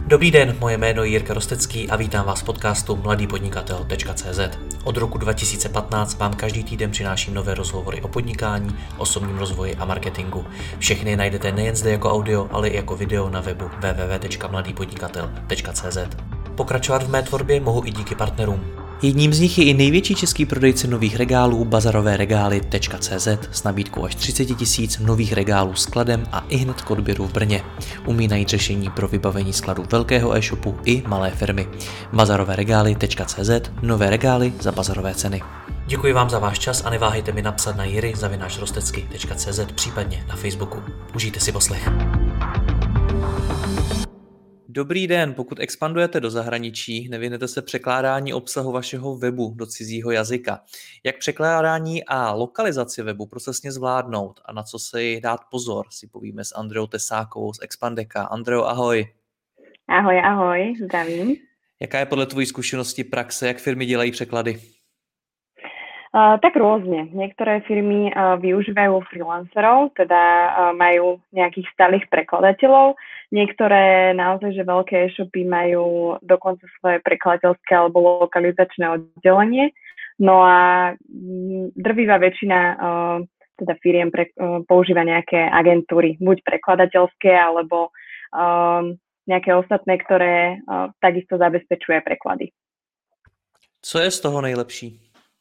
Dobrý den, moje jméno je Jirka Rostecký a vítám vás v podcastu mladýpodnikatel.cz. Od roku 2015 vám každý týden přináším nové rozhovory o podnikání, osobním rozvoji a marketingu. Všechny najdete nejen zde jako audio, ale i jako video na webu www.mladýpodnikatel.cz. Pokračovat v mé tvorbě mohu i díky partnerům. Jedním z nich je i největší český prodejce nových regálů bazaroveregály.cz s nabídkou až 30 000 nových regálů skladem a ihned k odběru v Brně. Umí najít řešení pro vybavení skladu velkého e-shopu i malé firmy. bazaroveregály.cz, nové regály za bazarové ceny. Děkuji vám za váš čas a neváhejte mi napsat na jiry@rostecky.cz, případně na Facebooku. Užijte si poslech. Dobrý den, pokud expandujete do zahraničí, nevyhnete se překládání obsahu vašeho webu do cizího jazyka. Jak překládání a lokalizaci webu procesně zvládnout a na co si dát pozor, si povíme s Andreou Tesákovou z Expandeka. Andreo, ahoj. Ahoj, zdravím. Jaká je podle tvojí zkušenosti praxe, jak firmy dělají překlady? Tak rôzne. Niektoré firmy využívajú freelancerov, teda majú nejakých stálych prekladateľov. Niektoré naozaj, že veľké e-shopy majú dokonca svoje prekladateľské alebo lokalizačné oddelenie. No a drvivá väčšina teda firiem používa nejaké agentúry, buď prekladateľské, alebo nejaké ostatné, ktoré takisto zabezpečuje preklady. Co je z toho nejlepší?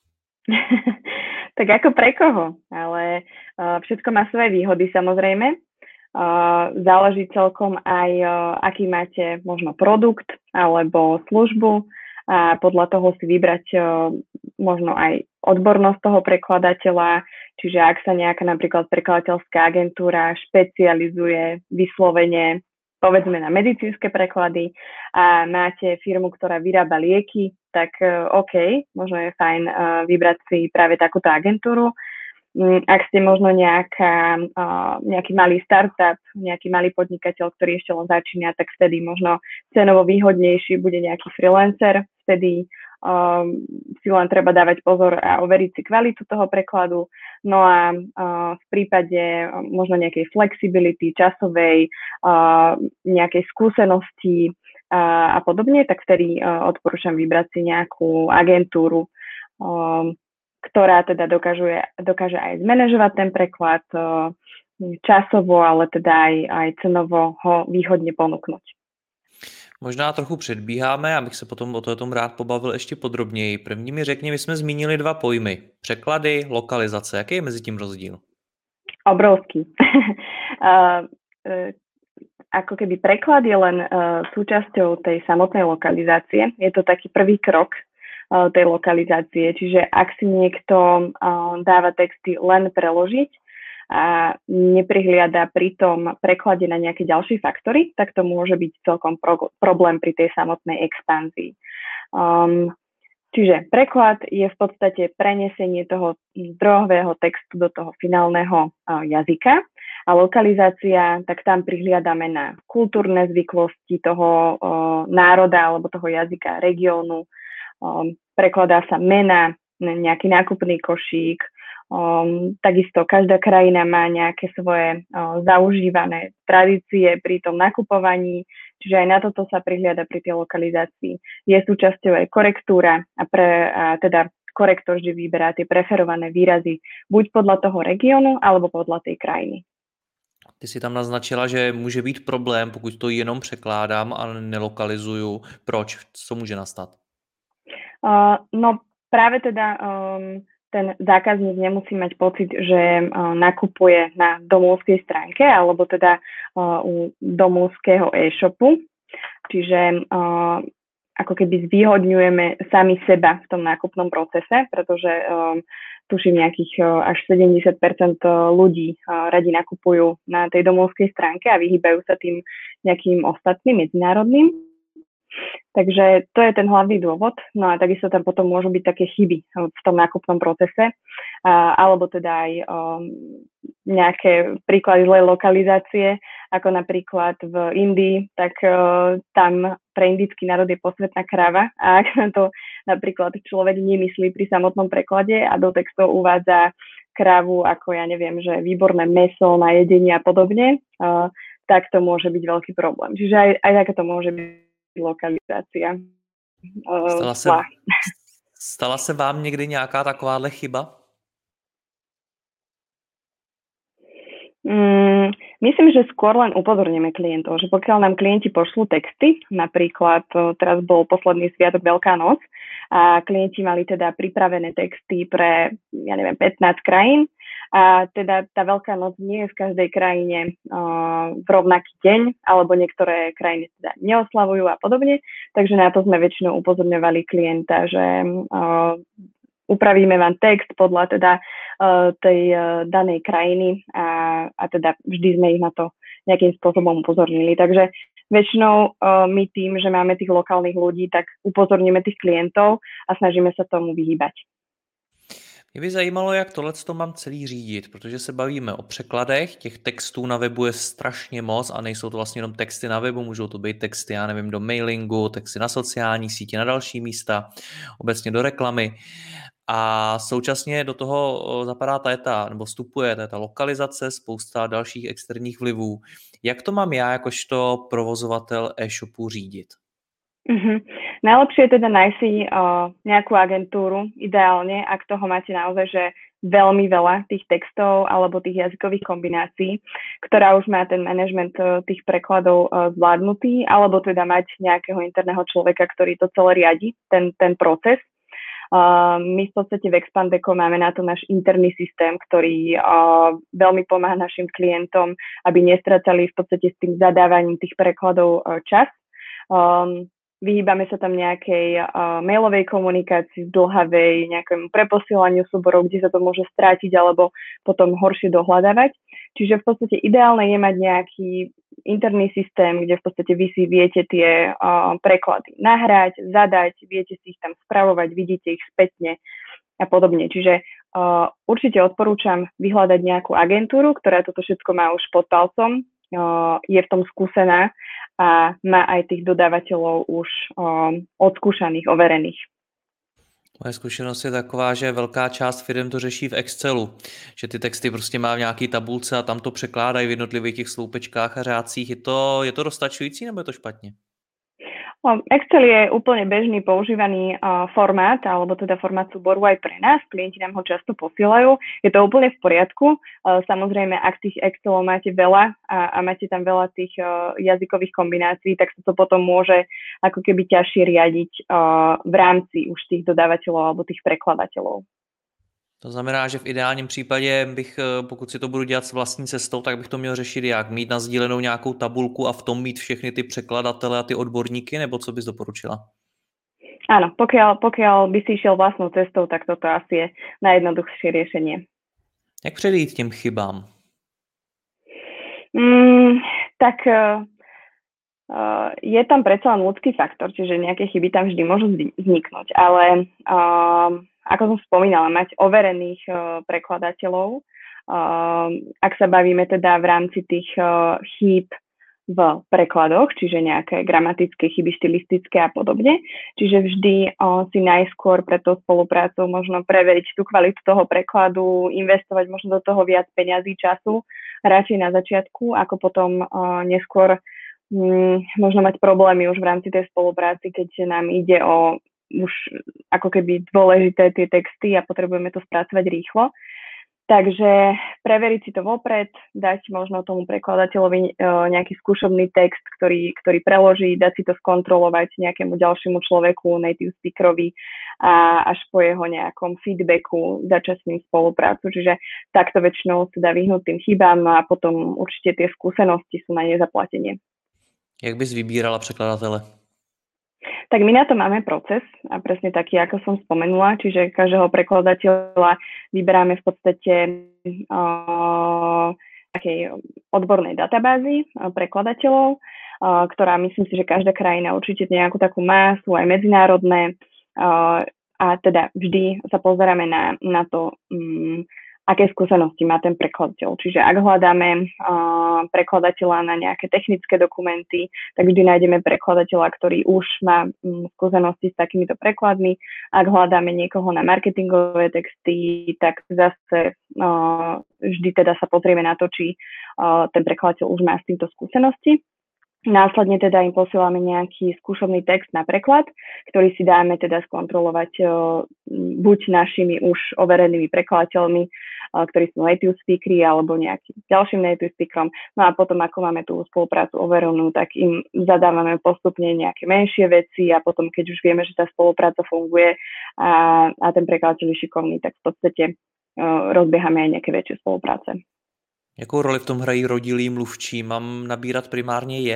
Tak ako pre koho, ale všetko má svoje výhody samozrejme. Záleží celkom aj, aký máte možno produkt alebo službu a podľa toho si vybrať možno aj odbornosť toho prekladateľa, čiže ak sa nejaká napríklad prekladateľská agentúra špecializuje vyslovene povedzme na medicínske preklady a máte firmu, ktorá vyrába lieky, tak OK, možno je fajn vybrať si práve takúto agentúru. Ak ste možno nejaký malý startup, nejaký malý podnikateľ, ktorý ešte len začína, tak vtedy možno cenovo výhodnejší bude nejaký freelancer, vtedy si len treba dávať pozor a overiť si kvalitu toho prekladu. No a v prípade možno nejakej flexibility, časovej, nejakej skúsenosti a podobne, tak vtedy odporúčam vybrať si nejakú agentúru, ktorá teda dokáže aj zmanéžovať ten preklad časovo, ale teda aj cenovo ho výhodne ponúknuť. Možná trochu předbíháme, abych se potom o tom rád pobavil ještě podrobněji. První mi řekni, my jsme zmínili dva pojmy. Překlady, lokalizace. Jaký je mezi tím rozdíl? Obrovský. Ako keby preklad je len súčasťou tej samotnej lokalizácie. Je to taký prvý krok tej lokalizácie. Čiže ak si niekto dáva texty len preložiť, a neprihliada pri tom preklade na nejaké ďalšie faktory, tak to môže byť celkom problém pri tej samotnej expanzii. Čiže preklad je v podstate prenesenie toho zdrojového textu do toho finálneho jazyka a lokalizácia, tak tam prihliadame na kultúrne zvyklosti toho národa alebo toho jazyka, regiónu. Prekladá sa mena, nejaký nákupný košík. Takisto každá krajina má nejaké svoje zaužívané tradície pri tom nakupovaní, čiže aj na toto sa prihliada pri tej lokalizácii. Je súčasťou aj korektúra a teda korektor vždy vyberá tie preferované výrazy buď podľa toho regiónu alebo podľa tej krajiny. Ty si tam naznačila, že může být problém, pokud to jenom překládám a nelokalizuju. Proč? Co může nastat? No práve teda ten zákazník nemusí mať pocit, že nakupuje na domovskej stránke alebo teda u domovského e-shopu. Čiže ako keby zvýhodňujeme sami seba v tom nákupnom procese, pretože tuším nejakých až 70% ľudí radi nakupujú na tej domovskej stránke a vyhýbajú sa tým nejakým ostatným medzinárodným. Takže to je ten hlavný dôvod. No a takisto tam potom môžu byť také chyby v tom nákupnom procese, alebo teda aj nejaké príklady zlej lokalizácie, ako napríklad v Indii, tak tam pre indický národ je posvätná kráva a ak na to napríklad človek nemyslí pri samotnom preklade a do textov uvádza krávu ako, ja neviem, že výborné mäso na jedenie a podobne, tak to môže byť veľký problém. Čiže aj taká to môže byť lokalizácia. Stala se vám někdy nějaká takováhle chyba? Myslím, že skôr len upozorníme klientov, že pokiaľ nám klienti pošlú texty, napríklad teraz bol posledný sviatok Veľká noc a klienti mali teda pripravené texty pre, 15 krajín a teda tá Veľká noc nie je v každej krajine v rovnaký deň, alebo niektoré krajiny teda neoslavujú a podobne, takže na to sme väčšinou upozorňovali klienta, že upravíme vám text podľa teda tej danej krajiny a teda vždy sme ich na to nejakým spôsobom upozornili. Takže väčšinou my tým, že máme tých lokálnych ľudí, tak upozorníme tých klientov a snažíme sa tomu vyhýbať. Mě by zajímalo, jak tohleto mám celý řídit, protože se bavíme o překladech, těch textů na webu je strašně moc a nejsou to vlastně jenom texty na webu, můžou to být texty, já nevím, do mailingu, texty na sociální sítě, na další místa, obecně do reklamy. A současně do toho zapadá nebo vstupuje ta lokalizace, spousta dalších externích vlivů. Jak to mám já jakožto provozovatel e-shopu řídit? Najlepšie je teda nájsť si nejakú agentúru, ideálne, ak toho máte naozaj, že veľmi veľa tých textov alebo tých jazykových kombinácií, ktorá už má ten manažment tých prekladov zvládnutý, alebo teda mať nejakého interného človeka, ktorý to celé riadi, ten proces. My v podstate v Expandeco máme na to náš interný systém, ktorý veľmi pomáha našim klientom, aby nestracali v podstate s tým zadávaním tých prekladov čas. Vyhýbame sa tam nejakej mailovej komunikácii, zdĺhavej, nejakému preposielaniu súborov, kde sa to môže strátiť alebo potom horšie dohľadávať. Čiže v podstate ideálne je mať nejaký interný systém, kde v podstate vy si viete tie preklady nahrať, zadať, viete si ich tam spravovať, vidíte ich spätne a podobne. Čiže určite odporúčam vyhľadať nejakú agentúru, ktorá toto všetko má už pod palcom, je v tom skúsená a má aj tých dodávateľov už odskúšaných, overených. Moje zkušenost je taková, že velká část firm to řeší v Excelu, že ty texty prostě má v nějaký tabulce a tam to překládají v jednotlivých těch sloupečkách a řádcích. Je to dostačující nebo je to špatně? Excel je úplne bežný používaný formát, alebo teda formát súboru aj pre nás. Klienti nám ho často posielajú. Je to úplne v poriadku. Samozrejme, ak tých Excelov máte veľa a máte tam veľa tých jazykových kombinácií, tak sa to potom môže ako keby ťažšie riadiť v rámci už tých dodávateľov alebo tých prekladateľov. To znamená, že v ideálním případě bych, pokud si to budu dělat s vlastní cestou, tak bych to měl řešit jak? Mít nasdílenou nějakou tabulku a v tom mít všechny ty překladatele a ty odborníky, nebo co bys doporučila? Áno, pokiaľ by si išiel vlastnou cestou, tak toto asi je najjednoduchšie riešenie. Jak předejít těm chybám? Je tam predsa len ľudský faktor, čiže nejaké chyby tam vždy môžu vzniknúť, ale ako som spomínala, mať overených prekladateľov, ak sa bavíme teda v rámci tých chýb v prekladoch, čiže nejaké gramatické chyby, štilistické a podobne. Čiže vždy si najskôr pre tú spoluprácu možno preveriť tú kvalitu toho prekladu, investovať možno do toho viac peňazí, času, radšej na začiatku, ako potom neskôr možno mať problémy už v rámci tej spolupráci, keď nám ide o už ako keby dôležité tie texty a potrebujeme to spracovať rýchlo. Takže preveriť si to vopred, dať možno tomu prekladateľovi nejaký skúšobný text, ktorý preloží, dať si to skontrolovať nejakému ďalšiemu človeku, native speakerovi a až po jeho nejakom feedbacku začať s ním spoluprácu. Čiže takto väčšinou sa dá vyhnúť tým chybám a potom určite tie skúsenosti sú na nezaplatenie. Jak bys vybírala překladatele? Tak my na to máme proces a presne taký, ako som spomenula, čiže každého prekladateľa vyberáme v podstate takej odbornej databázy prekladateľov, ktorá myslím si, že každá krajina určite nejakú takú má, sú aj medzinárodné a teda vždy sa pozeráme na to, aké skúsenosti má ten prekladateľ. Čiže ak hľadáme prekladateľa na nejaké technické dokumenty, tak vždy nájdeme prekladateľa, ktorý už má skúsenosti s takýmito prekladmi. Ak hľadáme niekoho na marketingové texty, tak zase vždy teda sa pozrieme na to, či ten prekladateľ už má s týmto skúsenosti. Následne teda im posielame nejaký skúšobný text na preklad, ktorý si dáme teda skontrolovať buď našimi už overenými prekladateľmi, ktorí sú native speakery, alebo nejakým ďalším native speakerom. No a potom, ako máme tú spoluprácu overenú, tak im zadávame postupne nejaké menšie veci a potom, keď už vieme, že tá spolupráca funguje a ten prekladateľ je šikovný, tak v podstate rozbiehame aj nejaké väčšie spolupráce. Jakou roli v tom hrají rodilí mluvčí? Mám nabírat primárně je?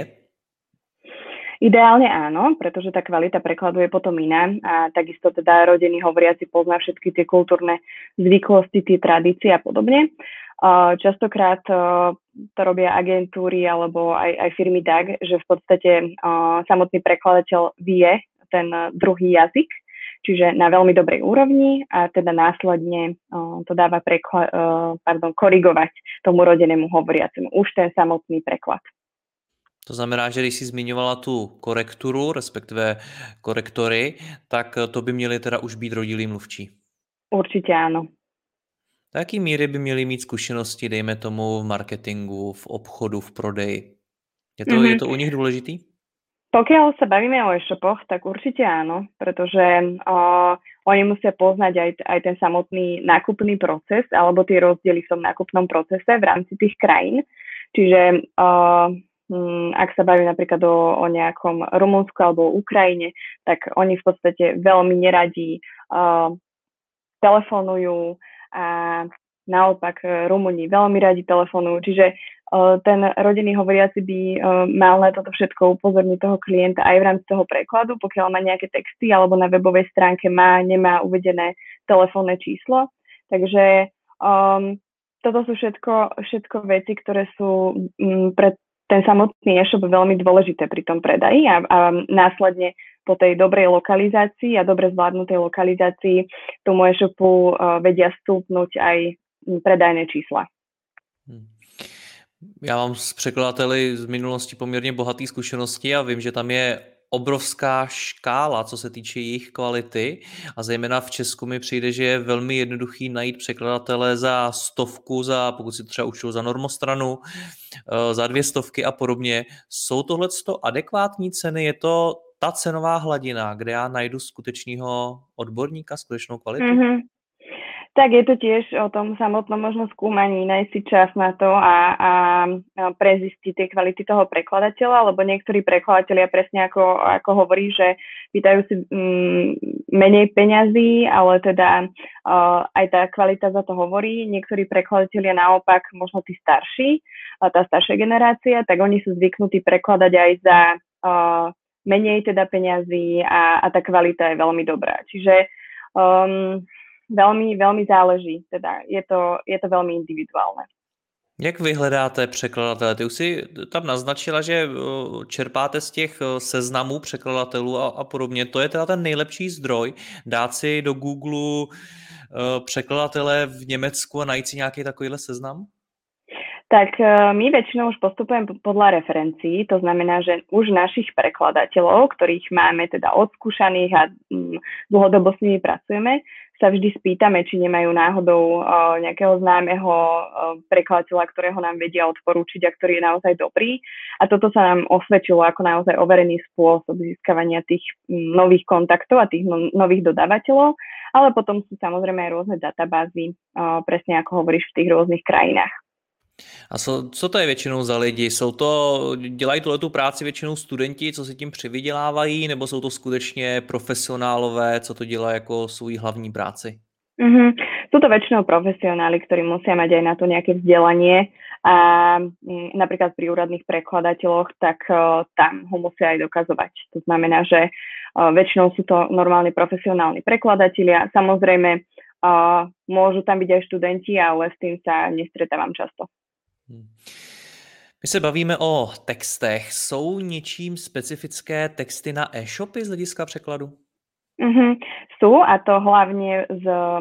Ideálne áno, pretože tá kvalita prekladu je potom iná a takisto teda rodený hovoriaci pozná všetky tie kultúrne zvyklosti, tie tradície a podobne. Častokrát to robia agentúry alebo aj firmy tak, že v podstate samotný prekladateľ vie ten druhý jazyk, čiže na veľmi dobrej úrovni a teda následne to dáva korigovať tomu rodenému hovoriacemu už ten samotný preklad. To znamená, že když jsi zmiňovala tu korekturu, respektive korektory, tak to by měli teda už být rodilí mluvčí. Určite áno. Do jaký míry by měli mít zkušenosti, dejme tomu, v marketingu, v obchodu, v prodeji? Je to u nich důležitý? Pokiaľ sa bavíme o e-shopoch, tak určite áno, pretože oni musia poznať aj ten samotný nákupný proces alebo tie rozdiely v tom nákupnom procese v rámci tých krajín. Čiže ak sa bavíme napríklad o nejakom Rumunsku alebo o Ukrajine, tak oni v podstate veľmi neradí telefonujú a naopak Rumúni veľmi radi telefonujú. Čiže ten rodinný hovoriaci by mal na toto všetko upozorniť toho klienta aj v rámci toho prekladu, pokiaľ má nejaké texty alebo na webovej stránke nemá uvedené telefónne číslo. Takže toto sú všetko veci, ktoré sú pre ten samotný e-shop veľmi dôležité pri tom predaji a následne po tej dobrej lokalizácii a dobre zvládnutej lokalizácii tomu e-shopu vedia stúpnuť aj predajné čísla. Já mám s překladateli z minulosti poměrně bohatý zkušenosti a vím, že tam je obrovská škála, co se týče jejich kvality a zejména v Česku mi přijde, že je velmi jednoduchý najít překladatele za 100, pokud si třeba učil za normostranu, za 200 a podobně. Jsou tohleto adekvátní ceny? Je to ta cenová hladina, kde já najdu skutečného odborníka, skutečnou kvalitu? Mm-hmm. Tak je to tiež o tom samotnom možno skúmaní, nájsť si čas na to a prezistiť tie kvality toho prekladateľa, lebo niektorí prekladatelia presne ako hovorí, že pýtajú si menej peňazí, ale teda aj tá kvalita za to hovorí. Niektorí prekladatelia naopak, možno tí starší, tá staršia generácia, tak oni sú zvyknutí prekladať aj za menej teda peňazí a tá kvalita je veľmi dobrá. Čiže veľmi záleží, teda je to veľmi individuálne. Jak vy hledáte překladatele? Ty už si tam naznačila, že čerpáte z těch seznamů překladatelů a podobně. To je teda ten nejlepší zdroj, dát si do Google překladatele v Německu a najít si nějaký takovýhle seznam? Tak my väčšinou už postupujeme podľa referencií, to znamená, že už našich prekladateľov, ktorých máme teda odskúšaných a dlhodobo s nimi pracujeme, sa vždy spýtame, či nemajú náhodou nejakého známeho prekladateľa, ktorého nám vedia odporúčiť a ktorý je naozaj dobrý. A toto sa nám osvedčilo ako naozaj overený spôsob získavania tých nových kontaktov a tých nových dodávateľov, ale potom sú samozrejme aj rôzne databázy, presne ako hovoríš, v tých rôznych krajinách. A co to je většinou za lidi? Dělají tu práci většinou studenti, co si tím přivydělávají, nebo jsou to skutečně profesionálové, co to dělají jako svou hlavní práci? Sú to väčšinou profesionáli, ktorí musia mať aj na to nejaké vzdelanie a napríklad pri úradných prekladateľoch, tak tam ho musia aj dokazovať. To znamená, že väčšinou sú to normálne profesionálni prekladatelia. Samozrejme, môžu tam byť aj študenti, ale s tým sa nestretávam často. My se bavíme o textech. Jsou něčím specifické texty na e-shopy z hlediska překladu? Sú, a to hlavne z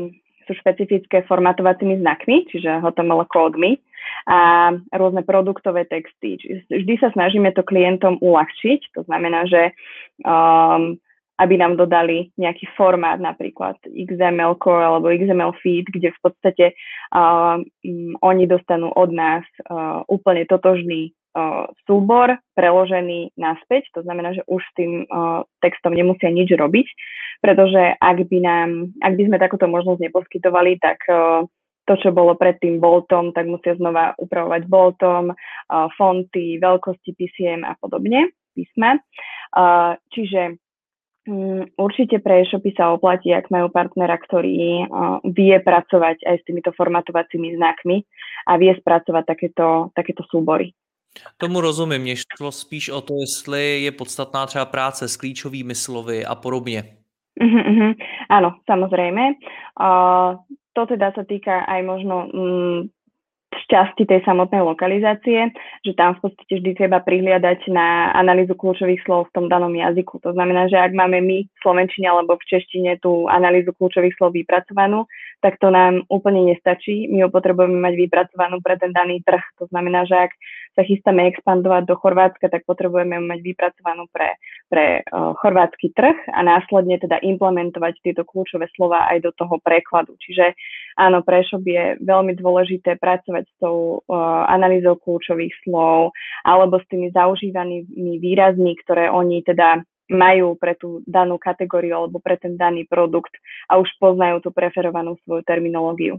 sú špecifické formatovacími znakmi, čiže HTML kódmi a rôzne produktové texty. Vždy sa snažíme to klientom uľahčiť, to znamená, že aby nám dodali nejaký formát, napríklad XML core alebo XML feed, kde v podstate oni dostanú od nás úplne totožný súbor preložený naspäť, to znamená, že už s tým textom nemusia nič robiť, pretože ak by sme takúto možnosť neposkytovali, tak to, čo bolo predtým boltom, tak musia znova upravovať boltom, fonty, veľkosti písiem a podobne, písma. Čiže určite pre e-shopy sa oplatí, ak majú partnera, ktorý vie pracovať aj s týmito formatovacími znakmi a vie spracovať takéto súbory. Tomu rozumím, mě šlo spíš o to, jestli je podstatná třeba práce s klíčovými slovy a podobně. Áno, samozrejme. To teda sa týka aj možno z časti tej samotnej lokalizácie, že tam v podstate vždy treba prihliadať na analýzu kľúčových slov v tom danom jazyku. To znamená, že ak máme my v slovenčine alebo v češtine tú analýzu kľúčových slov vypracovanú, tak to nám úplne nestačí. My ho potrebujeme mať vypracovanú pre ten daný trh. To znamená, že ak sa chystáme expandovať do Chorvátska, tak potrebujeme mať vypracovanú pre chorvátsky trh a následne teda implementovať tieto kľúčové slova aj do toho prekladu. Čiže áno, pre e-shop je veľmi dôležité pracovať s tou analýzou kľúčových slov alebo s tými zaužívanými výrazmi, ktoré oni teda majú pre tú danú kategóriu alebo pre ten daný produkt a už poznajú tú preferovanú svoju terminológiu.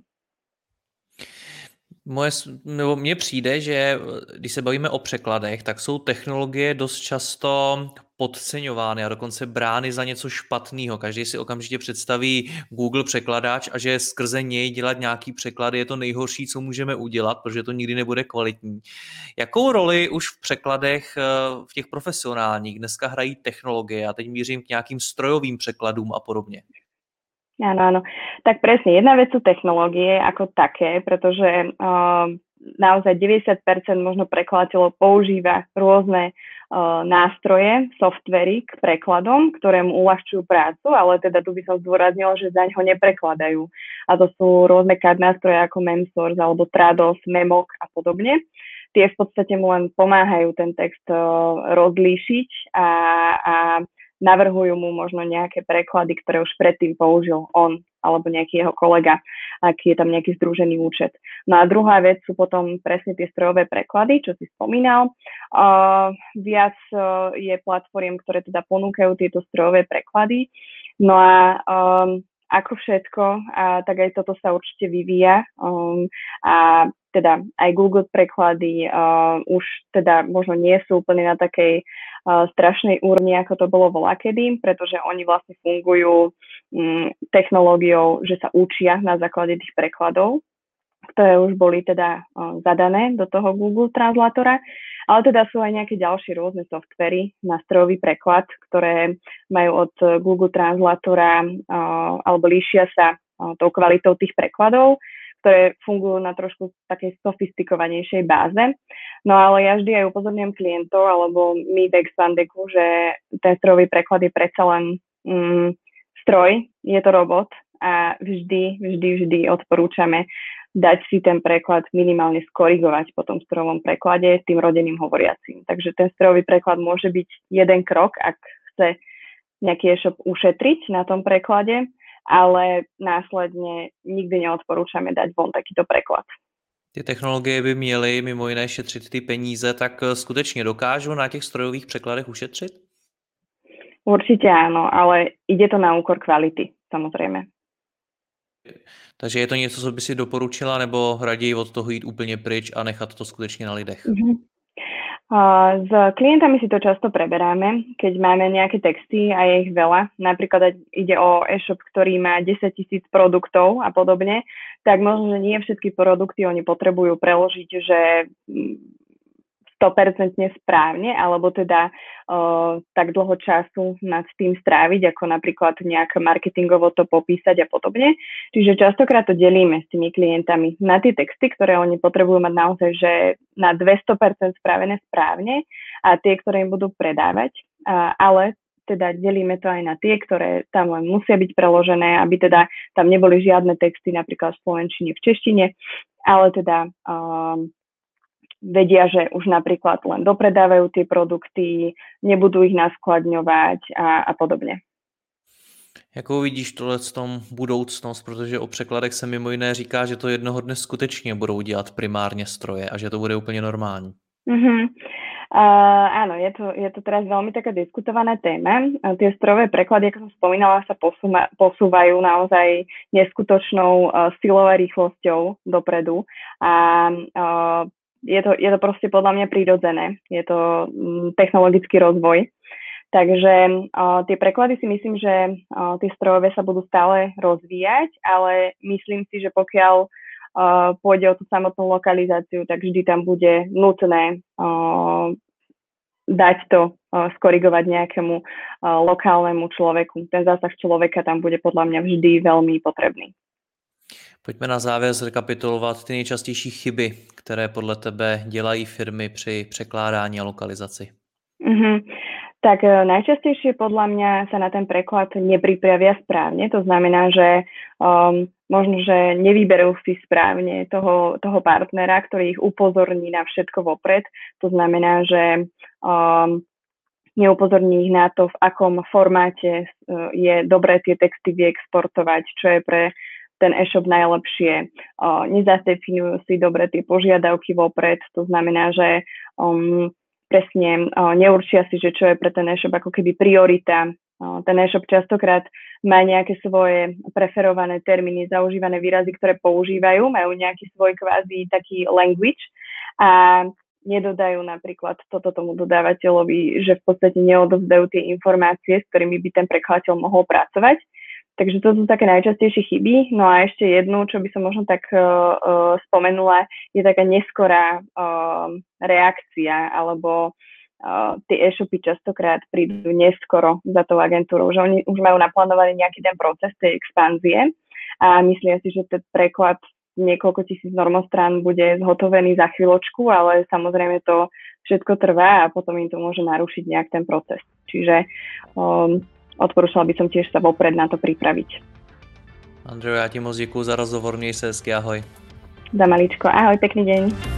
Mně přijde, že když se bavíme o překladech, tak jsou technologie dost často podceňovány a dokonce brány za něco špatného. Každý si okamžitě představí Google překladač a že skrze něj dělat nějaký překlad je to nejhorší, co můžeme udělat, protože to nikdy nebude kvalitní. Jakou roli už v překladech v těch profesionálních dneska hrají technologie? A teď mířím k nějakým strojovým překladům a podobně. Áno. Tak presne, jedna vec sú technológie ako také, pretože naozaj 90% možno prekladateľov používa rôzne nástroje, softvery k prekladom, ktoré mu uľahčujú prácu, ale teda tu by som zdôraznila, že zaňho neprekladajú. A to sú rôzne CAD nástroje ako Memsource alebo Trados, Memok a podobne. Tie v podstate mu len pomáhajú ten text rozlíšiť a navrhujú mu možno nejaké preklady, ktoré už predtým použil on alebo nejaký jeho kolega, ak je tam nejaký združený účet. No a druhá vec sú potom presne tie strojové preklady, čo si spomínal. Viac je platform, ktoré teda ponúkajú tieto strojové preklady. No a ako všetko, tak aj toto sa určite vyvíja a teda aj Google preklady už teda možno nie sú úplne na takej strašnej úrovni, ako to bolo voľakedy, pretože oni vlastne fungujú technológiou, že sa učia na základe tých prekladov, ktoré už boli teda zadané do toho Google Translatora, ale teda sú aj nejaké ďalšie rôzne softvery na strojový preklad, ktoré majú od Google Translatora alebo líšia sa tou kvalitou tých prekladov, ktoré fungujú na trošku takej sofistikovanejšej báze. No ale ja vždy aj upozorňujem klientov, alebo my v Expandeku, že ten strojový preklad je predsa len stroj, je to robot a vždy odporúčame dať si ten preklad minimálne skorigovať po tom strojovom preklade tým rodeným hovoriacím. Takže ten strojový preklad môže byť jeden krok, ak chce nejaký e-shop ušetriť na tom preklade, ale následně nikdy neodporúčame dať von takýto preklad. Ty technologie by měly mimo jiné šetřit ty peníze, tak skutečně dokážu na těch strojových překladech ušetřit? Určite áno, ale ide to na úkor kvality, samozrejme. Takže je to něco, co by si doporučila, nebo raději od toho jít úplně pryč a nechat to skutečně na lidech? S klientami si to často preberáme, keď máme nejaké texty a je ich veľa. Napríklad ide o e-shop, ktorý má 10 000 produktov a podobne, tak možno, že nie všetky produkty oni potrebujú preložiť, že 100% správne, alebo teda tak dlho času nad tým stráviť, ako napríklad nejak marketingovo to popísať a podobne. Čiže častokrát to delíme s tými klientami na tie texty, ktoré oni potrebujú mať naozaj, že na 200% spravené správne a tie, ktoré im budú predávať. Ale teda delíme to aj na tie, ktoré tam len musia byť preložené, aby teda tam neboli žiadne texty napríklad v slovenčine, v češtine, ale teda vedia, že už napríklad len dopredávajú tie produkty, nebudú ich naskladňovať a podobně. Jakou vidíš tohle v tom budoucnost, protože o překladech se mimo jiné říká, že to jednoho dne skutečně budou dělat primárně stroje a že to bude úplně normální. Áno, je to teraz veľmi taká diskutovaná téma. Tie strojové preklady, ako som spomínala, sa posúvajú naozaj neskutočnou silou a rýchlosťou dopredu a je to proste podľa mňa prirodzené. Je to technologický rozvoj. Takže tie preklady si myslím, že tie strojové sa budú stále rozvíjať, ale myslím si, že pokiaľ pôjde o tú samotnú lokalizáciu, tak vždy tam bude nutné dať to, skorigovať nejakému lokálnemu človeku. Ten zásah človeka tam bude podľa mňa vždy veľmi potrebný. Pojďme na závěr zrekapitulovat ty nejčastější chyby, které podle tebe dělají firmy při překládání a lokalizaci. Tak najčastejšie podľa mňa sa na ten preklad nepripravia správne. To znamená, že možno, že nevyberú si správne toho partnera, ktorý ich upozorní na všetko vopred. To znamená, že neupozorní ich na to, v akom formáte je dobré tie texty vyexportovať, čo je pre ten e-shop najlepšie. Nezadefinujú si dobre tie požiadavky vopred. To znamená, že presne neurčia si, že čo je pre ten e-shop ako keby priorita. Ten e-shop častokrát má nejaké svoje preferované termíny, zaužívané výrazy, ktoré používajú, majú nejaký svoj kvázi taký language a nedodajú napríklad toto tomu dodávateľovi, že v podstate neodovzdajú tie informácie, s ktorými by ten prekladateľ mohol pracovať. Takže to sú také najčastejšie chyby. No a ešte jednu, čo by som možno tak spomenula, je taká neskorá reakcia, alebo tie e-shopy častokrát prídu neskoro za tou agentúrou, že oni už majú naplánovaný nejaký ten proces tej expanzie a myslia si, že ten preklad niekoľko tisíc normostrán bude zhotovený za chvíľočku, ale samozrejme to všetko trvá a potom im to môže narušiť nejak ten proces. Čiže odporúčala by som tiež sa vopred na to pripraviť. Andrejo, já ti moc děkuju za rozhovor, měj se hezky, ahoj. Za maličko, ahoj, pekný deň.